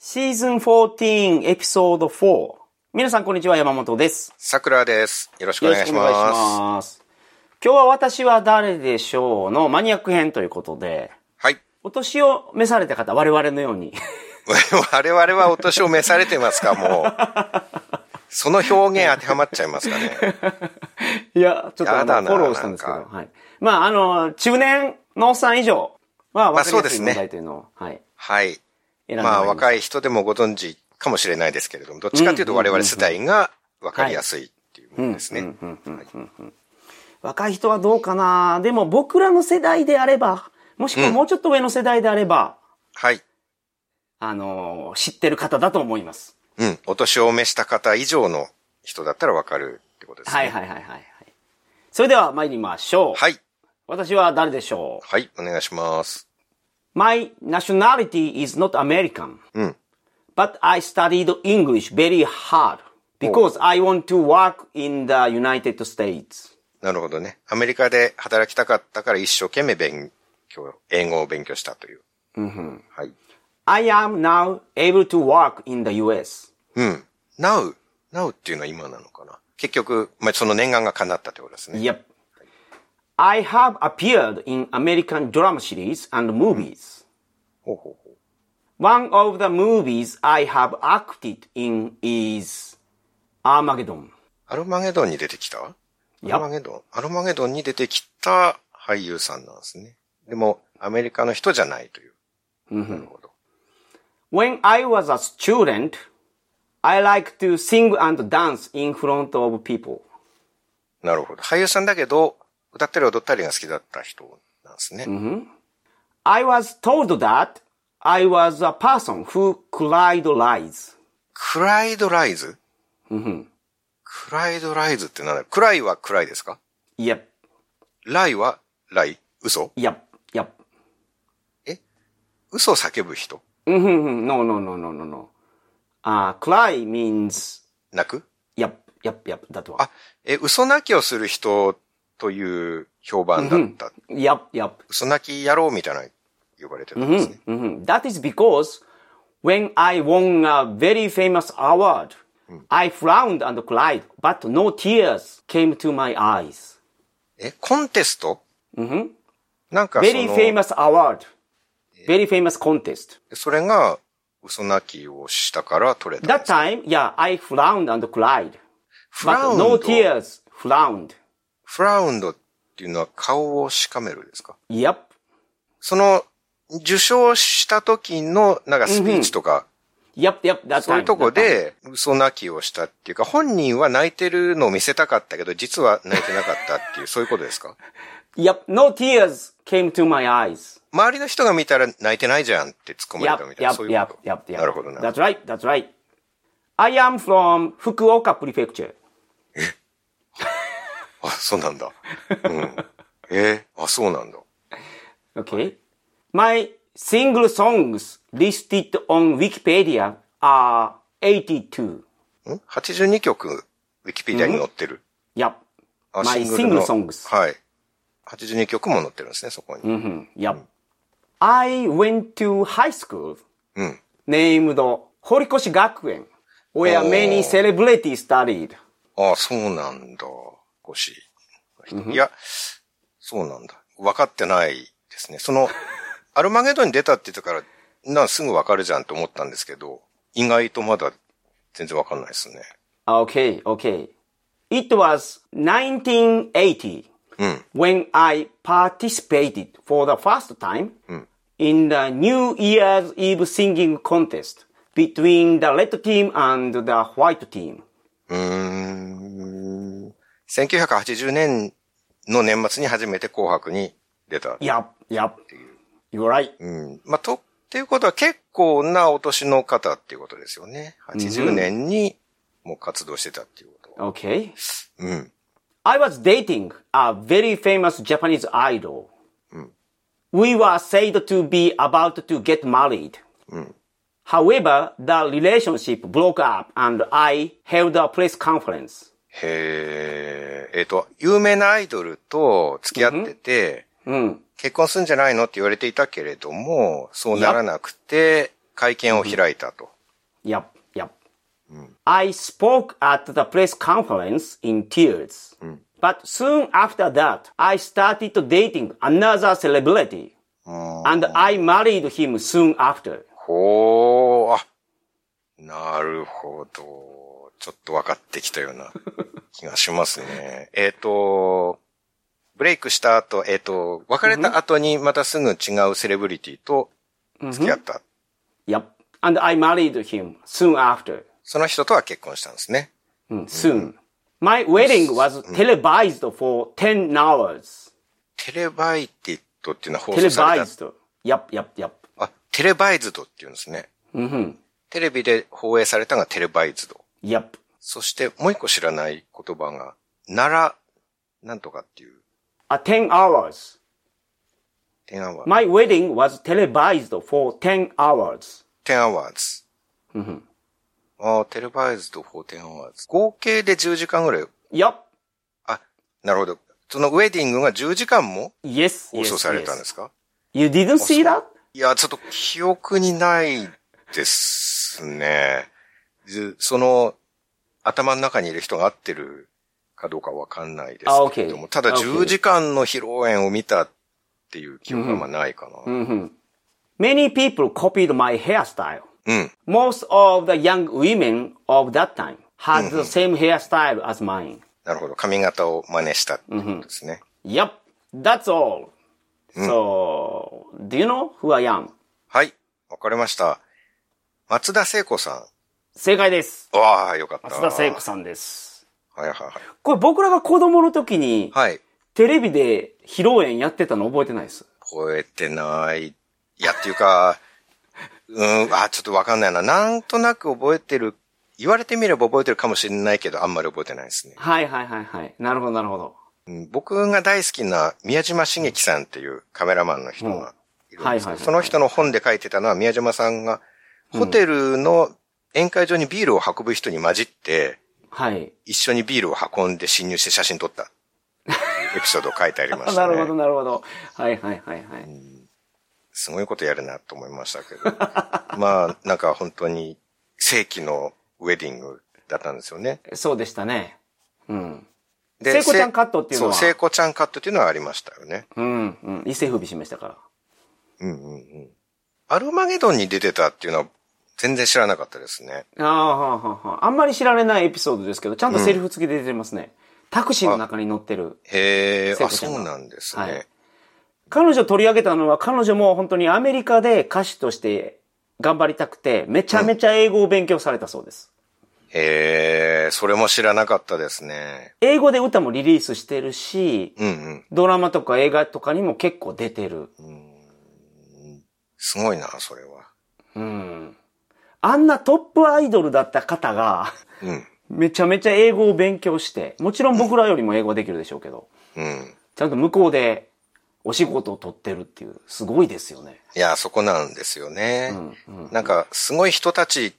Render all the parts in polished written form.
シーズン14エピソード4。皆さんこんにちは、山本です。 さくらです。よろしくお願いします。 よろしくお願いします。今日は私は誰でしょうのマニアック編ということで、 はい。 お年を召された方、我々のように。 我々はお年を召されてますか、もう。その表現当てはまっちゃいますかね。 いや、ちょっとフォローしたんですけど。はい。まあ、中年のおっさん以上は分かりやすい問題というのを、はい。 はい。まあ、若い人でもご存知かもしれないですけれども、どっちかというと我々世代が分かりやすいっていうものですね。 若い人はどうかな。でも僕らの世代であれば、もしくはもうちょっと上の世代であれば、 はい。 知ってる方だと思います。 うん。お年を召した方以上の人だったら分かるってことですね。 はい。それでは参りましょう。 はい。 私は誰でしょう？ はい、お願いします。 My nationality is not American. But I studied English very hard because I want to work in the United States. なるほどね。アメリカで働きたかったから一生懸命英語を勉強したという。はい。 I am now able to work in the US. Now っていうのは今なのかな。結局、その念願が叶ったってことですね。 Yep. I have appeared in American drama series and movies. One of the movies I have acted in is Armageddon. アルマゲドンに出てきた？ Yep. アルマゲドンに出てきた俳優さんなんですね。でも、アメリカの人じゃないという。なるほど。 When I was a student, I like to sing and dance in front of people. なるほど。俳優さんだけど、歌ったり踊ったりが好きだった人なんですね。 I was told that I was a person who cried lies. クライドライズ？クライドライズって何だ？クライは暗いですか？ Yep. ライはライ？嘘？ Yep. 嘘を叫ぶ人？ No. Cry means... 泣く？ Yep. That one. 嘘泣きをする人という評判だった。 Yep. 嘘泣き野郎みたいな呼ばれてたんですね。 That is because when I won a very famous award, I frowned and cried, but no tears came to my eyes. コンテスト？なんか Very famous award.Very famous contest. それが嘘泣きをしたから取れたんです。 That time, yeah, I frowned and cried. But no tears frowned. frowned っていうのは顔をしかめるですか？ Yep. その受賞した時のなんかスピーチとか、 Yep, that time. そういうとこで嘘泣きをしたっていうか、本人は泣いてるのを見せたかったけど、実は泣いてなかったっていう、そういうことですか？ Yep, no tears came to my eyes. 周りの人が見たら泣いてないじゃんって突っ込まれたみたいな、そういうこと。 Yep. なるほどね。 That's right. I am from Fukuoka Prefecture. あ、そうなんだ。そうなんだ。 Okay. My single songs listed on Wikipedia are 82. 82曲、ウィキペディアに載ってる。 Yep. My single songs. はい。82曲も載ってるんですね、そこに。 Yep. I went to high school named 堀越学園 where many celebrities studied. ああ、そうなんだ。いや、そうなんだ。分かってないですね。アルマゲドンに出たって言ったから、すぐ分かるじゃんと思ったんですけど、意外とまだ全然分かんないですね。 Okay. It was 1980 when I participated for the first time in the New Year's Eve singing contest between the red team and the white team. 1980年の年末に初めて紅白に出た。 Yep. You're right. っていうことは結構なお年の方っていうことですよね。80年にもう活動してたっていうこと。 Okay. I was dating a very famous Japanese idol. We were said to be about to get married. However, the relationship broke up and I held a press conference. 有名なアイドルと付き合ってて、結婚するんじゃないのって言われていたけれども、そうならなくて、会見を開いたと。 Yep, yep. I spoke at the press conference in tears. But soon after that, I started dating another celebrity. And I married him soon after. ほー、あ、なるほど。ちょっと分かってきたような気がしますね。ブレイクした後、別れた後にまたすぐ違うセレブリティと付き合った。 Yep. And I married him soon after. その人とは結婚したんですね。 Soon. My wedding was televised for 10 hours. テレバイティッドっていうのは放送された。 Televised. Yep, yep, yep. あ、テレバイズドっていうんですね。テレビで放映されたのがテレバイズド。 Yep. そしてもう一個知らない言葉が、なんとかっていう。 10 hours. 10 hours. My wedding was televised for 10 hours. 10 hours. テレバイズド for 10 hours. 合計で10時間ぐらい。 Yep. あ、なるほど。そのウェディングが10時間も Yes, 放送されたんですか？ You didn't see that? いや、ちょっと記憶にないですね。その、頭の中にいる人が合ってるかどうかわかんないですけれども、ただ10時間の披露宴を見たっていう記憶がないかな。 Many people copied my hairstyle. Most of the young women of that time had the same hairstyle as mine. なるほど。髪型を真似したってことですね。 Yep. That's all. So, do you know who I am? はい。わかりました。松田聖子さん。 正解です。 わあ、よかった。 松田聖子さんです。 はいはいはい。 これ僕らが子供の時に、 はい。 テレビで披露宴やってたの覚えてないです。 覚えてない。いや、っていうか、ちょっとわかんないな。なんとなく覚えてる。言われてみれば覚えてるかもしれないけど、あんまり覚えてないですね。 はいはいはいはい。なるほどなるほど。 僕が大好きな宮島茂樹さんっていうカメラマンの人がいるんですけど、その人の本で書いてたのは宮島さんがホテルの宴会場にビールを運ぶ人に混じって、一緒にビールを運んで侵入して写真撮ったエピソードを書いてありましたね。 なるほどなるほど。はいはいはいはい。 すごいことやるなと思いましたけど。まあ、なんか本当に世紀のウェディングだったんですよね。 そうでしたね。 で、 聖子ちゃんカットっていうのは。 そう、聖子ちゃんカットっていうのはありましたよね。 一世風靡しましたから。 アルマゲドンに出てたっていうのは全然知らなかったですね。 あんまり知られないエピソードですけど、ちゃんとセリフ付きで出てますね。タクシーの中に乗ってる。 そうなんですね。はい、 彼女取り上げたのは、彼女も本当にアメリカで歌手として頑張りたくて、めちゃめちゃ英語を勉強されたそうです。 それも知らなかったですね。 英語で歌もリリースしてるし、ドラマとか映画とかにも結構出てる。 すごいな、それは。 あんなトップアイドルだった方が、めちゃめちゃ英語を勉強して、もちろん僕らよりも英語できるでしょうけど、ちゃんと向こうでお仕事を取ってるっていう、すごいですよね。 いや、そこなんですよね。なんか、すごい人たちって、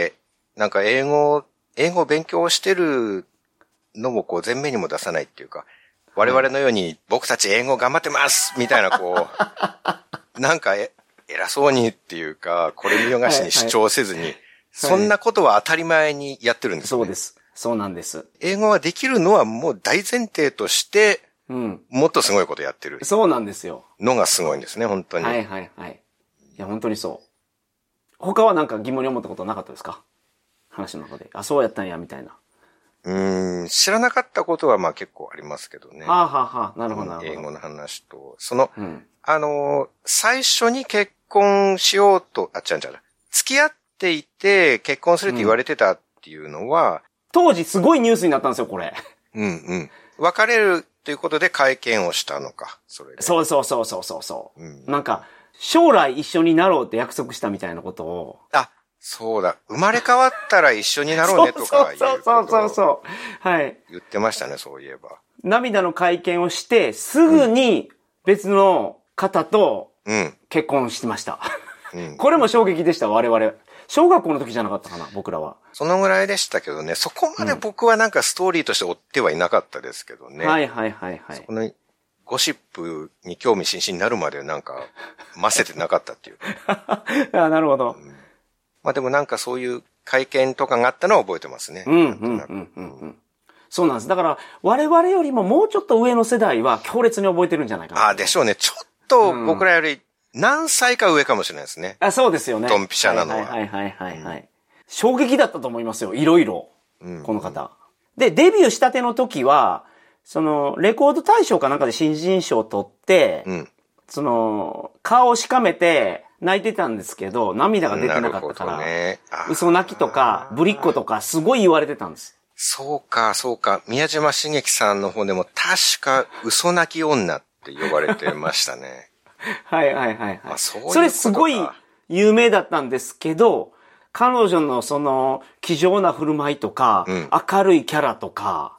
なんか英語を勉強してるのもこう前面にも出さないっていうか、我々のように僕たち英語頑張ってますみたいなこう、なんか偉そうにっていうか、これ見よがしに主張せずに、そんなことは当たり前にやってるんですね。 そうです。そうなんです。 英語ができるのはもう大前提として、もっとすごいことやってる。 そうなんですよ。 のがすごいんですね、本当に。 はいはいはい。いや、本当にそう。他はなんか疑問に思ったことなかったですか？話の中で。あ、そうやったんや、みたいな。 知らなかったことはまあ結構ありますけどね。 なるほどなるほど。 英語の話と、最初に結婚しようと、付き合っていて結婚するって言われてたっていうのは、 当時すごいニュースになったんですよ、これ。 別れるということで会見をしたのか、それで。 そう。なんか、将来一緒になろうって約束したみたいなことを。 そうだ。生まれ変わったら一緒になろうねとかいうことそう。はい。 言ってましたね、そういえば。 涙の会見をして、すぐに別の方と結婚してました。これも衝撃でした、我々。小学校の時じゃなかったかな、僕らは。 そのぐらいでしたけどね、そこまで僕はなんかストーリーとして追ってはいなかったですけどね。 はい。 そこのゴシップに興味津々になるまでなんか、ませてなかったっていう。 なるほど。 まあでもなんかそういう会見とかがあったのは覚えてますね。 そうなんです。だから、我々よりももうちょっと上の世代は強烈に覚えてるんじゃないかな。 でしょうね。ちょっと僕らより何歳か上かもしれないですね。 そうですよね。 ドンピシャなのは。 衝撃だったと思いますよ。いろいろ。この方。で、デビューしたての時は、レコード大賞かなんかで新人賞を取って、顔をしかめて泣いてたんですけど、涙が出てなかったから、嘘泣きとか、ぶりっ子とか、すごい言われてたんです。 そうか。宮島茂樹さんの方でも確か嘘泣き女って呼ばれてましたね。 はい。それすごい有名だったんですけど、彼女の気丈な振る舞いとか、明るいキャラとか、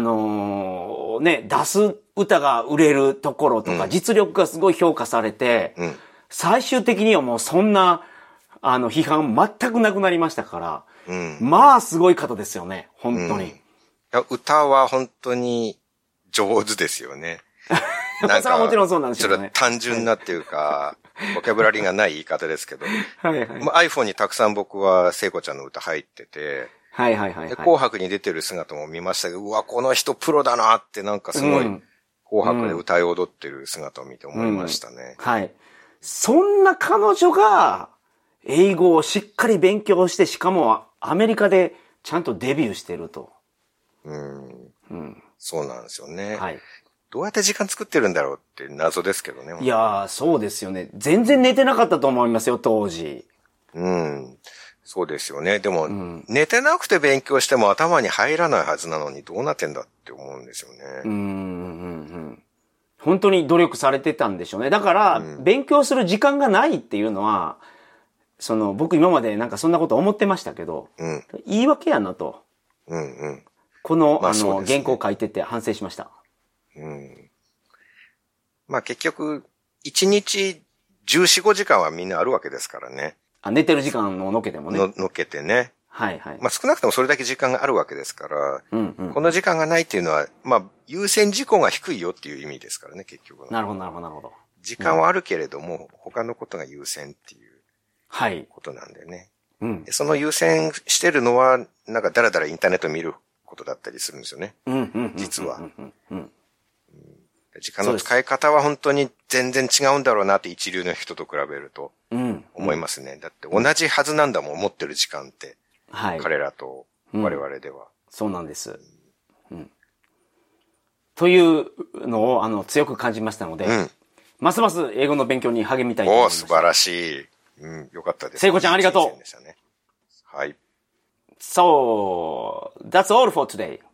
出す歌が売れるところとか、実力がすごい評価されて、最終的にはもうそんな、批判全くなくなりましたから、まあすごい方ですよね、本当に。 歌は本当に上手ですよね。 なんかそれはもちろんそうなんですよね。 単純なっていうか、ボキャブラリーがない言い方ですけど、iPhone にたくさん僕は聖子ちゃんの歌入ってて、で紅白に出てる姿も見ましたけど、うわ、この人プロだなってなんかすごい、紅白で歌い踊ってる姿を見て思いましたね。 そんな彼女が、英語をしっかり勉強して、しかもアメリカでちゃんとデビューしてると。 そうなんですよね。どうやって時間作ってるんだろうって謎ですけどね。 いやー、そうですよね。全然寝てなかったと思いますよ、当時。 そうですよね。でも、寝てなくて勉強しても頭に入らないはずなのにどうなってんだって思うんですよね。 本当に努力されてたんでしょうね。だから、勉強する時間がないっていうのは、僕今までなんかそんなこと思ってましたけど、言い訳やなと。この、原稿書いてて反省しました。 結局、1日14、5時間はみんなあるわけですからね。 寝てる時間をのけてもね。 のけてね。 はい。 少なくともそれだけ時間があるわけですから、この時間がないっていうのは、優先事項が低いよっていう意味ですからね、結局。 なるほど。 時間はあるけれども、他のことが優先っていうことなんでね。その優先してるのは、なんかだらだらインターネット見ることだったりするんですよね。実は。時間の使い方は本当に全然違うんだろうなって一流の人と比べると思いますね。だって同じはずなんだもん、持ってる時間って。彼らと我々では。 そうなんです。というのを強く感じましたので、ますます英語の勉強に励みたいと思います。 素晴らしい。よかったです。 聖子ちゃんありがとう。 はい。 So, that's all for today.